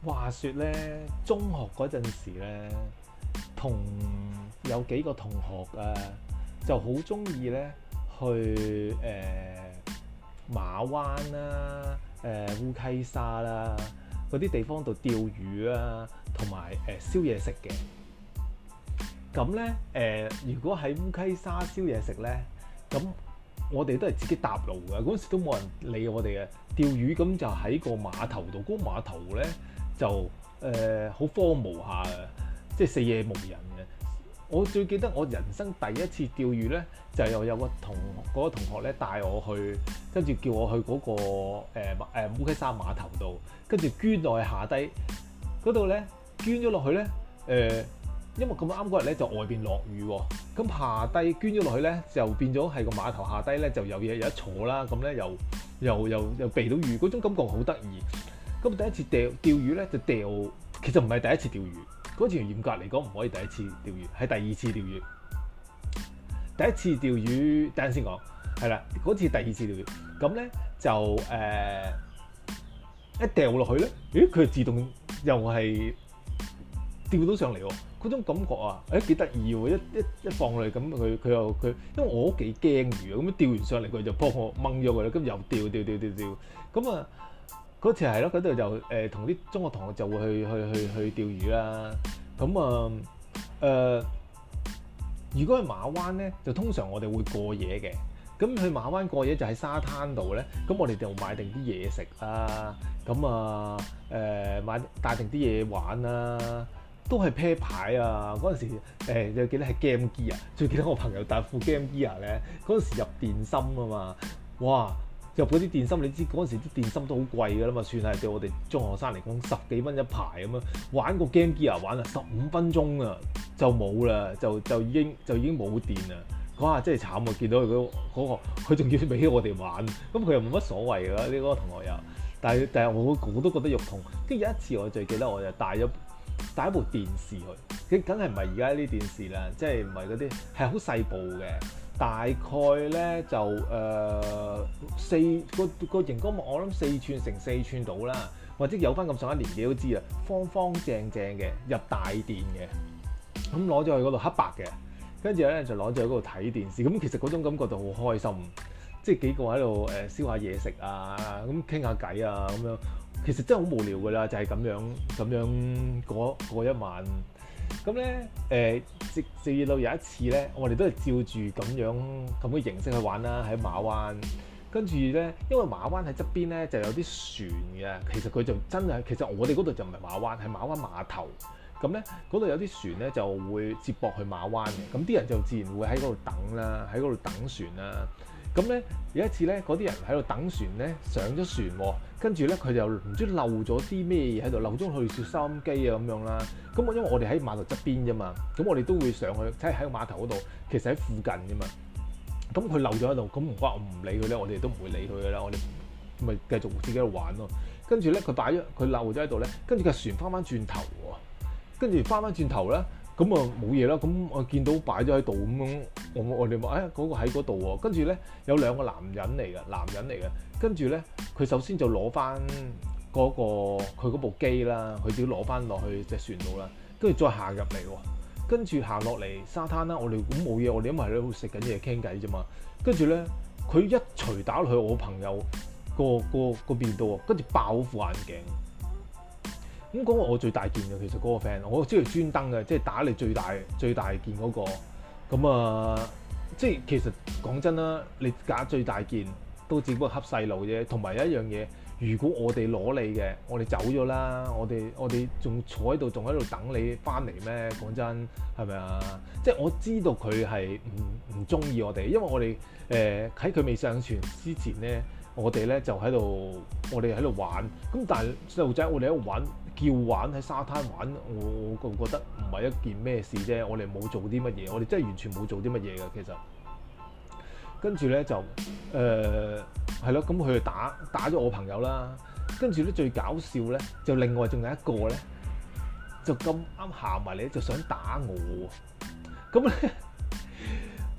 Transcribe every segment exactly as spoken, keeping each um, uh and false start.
話說咧，中學嗰陣時咧，同有幾個同學啊，就好中意咧去誒、呃、馬灣啦、誒、呃、烏溪沙啦嗰啲地方度釣魚啊，同埋誒燒嘢食嘅。咁咧誒，如果喺烏溪沙燒嘢食咧，咁我哋都係自己搭路嘅。嗰陣時都冇人理我哋嘅釣魚，咁就喺個碼頭度。嗰、嗰個碼頭咧就誒好、呃、荒蕪下嘅，即係四野無人嘅。我最記得我人生第一次釣魚咧，就係、有有個同嗰、嗰個同學咧帶我去，跟住叫我去嗰、嗰個誒誒、呃、烏溪沙碼頭度，跟住捐落去下低嗰度咧，捐咗落去咧誒。呃因為咁啱嗰日咧就外邊落雨喎，咁下低捐咗落去咧就變咗係個碼頭下低咧就有嘢有得坐啦，咁咧又又又又避到雨，嗰種感覺好得意。咁第一次釣釣魚咧就釣，其實唔係第一次釣魚，嗰次嚴格嚟講唔可以第一次釣魚，係第二次釣魚。第一次釣魚，等陣先講，係啦，嗰次第二次釣魚，咁咧就誒、呃、一掉落去咧，咦佢自動又係釣到上嚟喎。嗰種感覺啊，誒幾得意喎！一一一放落嚟咁，佢佢又佢，因為我都幾驚魚啊，咁樣釣完上嚟佢就幫我掹咗佢啦，咁又釣釣釣釣釣，咁啊嗰次係咯，嗰度就誒同啲中學同學就會去去去去釣魚啦。咁啊誒，如果去馬灣咧，就通常我哋會過夜嘅。咁去馬灣過夜就喺沙灘度咧，咁我哋就買定啲嘢食啦，咁啊誒買帶定啲嘢玩啦。都係啤牌啊！嗰陣時誒，又、呃、記得係 Game Gear 啊，最記得我朋友帶副 Game Gear 咧。嗰陣時入電芯啊嘛，哇！入嗰啲電芯，你知嗰陣時啲電芯都好貴㗎啦嘛，算係對我哋中學生嚟講十幾蚊一排咁樣。玩個 Game Gear 玩啊，十五分鐘啊就冇啦，就就已經就已經冇電啦。嗰下真係慘啊！見到佢嗰、嗰個，佢仲要俾我哋玩，咁佢又冇乜所謂㗎呢、呢個同學又。但係但係我我都覺得肉痛。跟住有一次我最記得我就帶咗。帶一部電視去，佢梗係唔係而家啲電視啦，即係唔係嗰啲係好細部嘅，大概咧就誒、呃、四個個熒光幕，我諗四寸乘四寸到啦，或者有翻咁上下年紀都知啦，方方正正嘅入大電嘅，咁攞咗去嗰度黑白嘅，跟住咧就攞咗去嗰度睇電視，咁其實嗰種感覺就好開心，即係幾個喺度誒燒下嘢食啊，咁傾下偈啊咁樣。其實真係好無聊㗎啦，就係、是、咁樣咁樣過過一晚。咁咧誒，直至到有一次咧，我哋都係照住咁樣咁嘅形式去玩啦，喺馬灣。跟住咧，因為馬灣喺側邊咧就有啲船嘅，其實佢就真係，其實我哋嗰度就唔係馬灣，係馬灣碼頭。咁咧嗰度有啲船咧就會接駁去馬灣嘅，咁啲人就自然會喺嗰度等啦，喺嗰度等船啦。咁咧有一次咧，嗰啲人喺度等船咧，上咗船喎，跟住咧佢就唔知漏咗啲咩嘢喺度，漏咗去攝收音機啊咁樣啦。咁我因為我哋喺碼頭側邊啫嘛，咁我哋都會上去，即係喺個碼頭嗰度，其實喺附近啫嘛。咁佢漏咗喺度，咁唔關我唔理佢咧，我哋都唔會理佢噶啦，我哋咪繼續自己喺度玩咯。跟住咧佢擺咗佢漏咗喺度咧，跟住個船翻翻轉頭喎，跟住翻翻轉頭咧。咁啊冇嘢啦，咁我見到擺咗喺度咁樣，我我哋話誒嗰個喺嗰度喎，跟住咧有兩個男人嚟嘅，男人嚟嘅，跟住咧佢首先就攞翻嗰個佢嗰部機啦，佢自己攞翻落去隻船度啦，跟住再行入嚟喎，跟住行落嚟沙灘啦，我哋咁冇嘢，我哋因為喺度食緊嘢傾偈啫嘛，跟住咧佢一錘打落去我朋友個個個邊度喎，跟住爆副眼鏡。咁嗰個我最大件嘅，其實嗰個 friend，我知佢專登嘅，即係打你最大最大件嗰個。咁啊，即係其實講真啦，你打最大件都只不過恰細路啫。同埋有一樣嘢，如果我哋攞你嘅，我哋走咗啦，我哋我哋仲坐喺度，仲喺度等你翻嚟咩？講真係咪啊？即係我知道佢係唔唔中意我哋，因為我哋誒喺佢未上船之前咧，我哋咧就喺度，我哋喺度玩。咁但係細路仔，我哋喺度玩。叫玩喺沙灘玩，我我覺得唔係一件咩事啫。我哋冇做啲乜嘢，我哋真係完全冇做啲乜嘢嘅。其實跟住咧就誒係咯，咁佢就打打咗我朋友啦。跟住咧最搞笑咧，就另外仲有一個咧，就咁啱行埋嚟就想打我。咁咧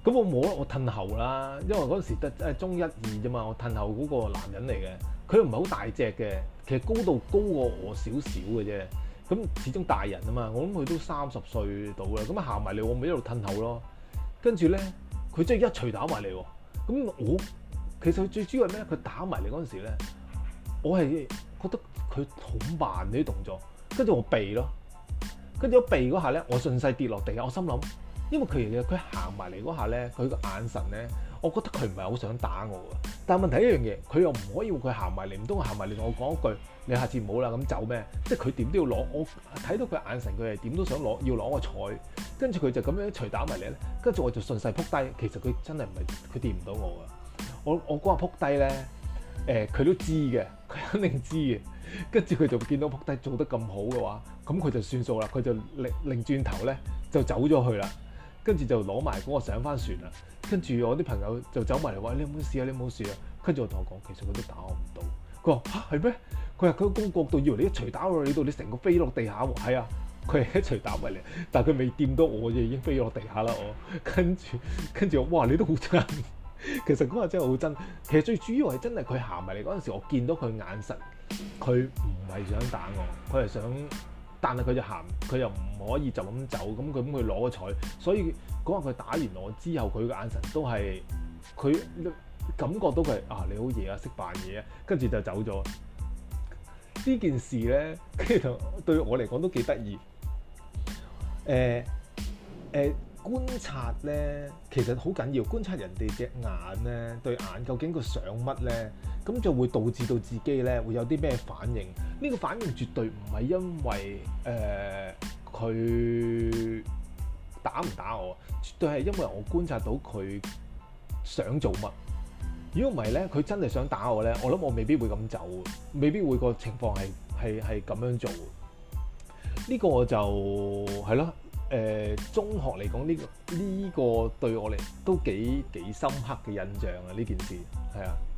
咁我冇啦，我褪後啦，因為嗰陣時得誒中一二啫嘛，我褪後嗰個男人嚟嘅，佢又唔係好大隻嘅，其實高度高過我少少嘅啫。咁始終大人啊嘛，我諗佢都三十歲到啦，咁啊行埋嚟，我咪一路褪後咯。跟住咧，佢真係一錘打埋嚟喎。咁我其實佢最主要係咩？佢打埋嚟嗰陣時咧，我係覺得佢好慢呢啲動作，跟住我避咯。跟住我避嗰下咧，我順勢跌落地下，我心諗，因為佢其實佢行埋嚟嗰下咧，佢個眼神咧，我覺得佢唔係好想打我㗎。但係問題一樣嘢，佢又唔可以佢行埋嚟，唔通行埋嚟同我講一句，你下次唔好啦咁走咩？即係佢點都要攞，我睇到佢眼神，佢係點都想攞，要攞個彩。跟住佢就咁樣一錘打埋嚟咧，跟住我就順勢撲低。其實佢真係唔係佢掂唔到我㗎。我我嗰下撲低咧，誒、呃、佢都知嘅，佢肯定知嘅。跟住佢就見到撲低做得咁好嘅話，咁佢就算數啦。佢就擰擰轉頭咧就走咗去啦。跟住就攞埋嗰個上翻船啦。跟住我啲朋友就走埋嚟話：你有冇事啊？你有冇事啊？跟住我同我講，其實佢都打我唔到。佢話嚇係咩？佢話佢個公角度以為你一錘打落你度，你成個飛落地下喎。係啊，佢係一錘打埋嚟，但係佢未掂到我就已經飛落地下啦。我跟住跟住我哇，你都好真。其實嗰下真係好真。其實最主要係真係佢行埋嚟嗰陣時，我見到佢眼神，佢唔係想打我，佢係想。但係佢就行，佢又唔可以就咁走，咁佢咁佢攞個彩，所以嗰日佢打完我之後，佢嘅眼神都係佢感覺到佢係啊你好嘢啊，識扮嘢啊，跟住就走咗。呢件事咧，跟住對我嚟講都幾得意。誒、呃、誒、呃、觀察咧，其實好緊要，觀察人哋隻眼咧，對眼究竟佢想乜咧？咁就會導致到自己咧會有啲咩反應？呢個反應絕對唔係因為誒佢、呃、打唔打我，絕對係因為我觀察到佢想做乜。如果唔係咧，佢真係想打我咧，我諗我未必會咁走，未必會個情況係係係咁樣做。呢個就係咯，誒中學嚟講呢個呢個對我嚟都幾幾深刻嘅印象啊！呢件事係啊。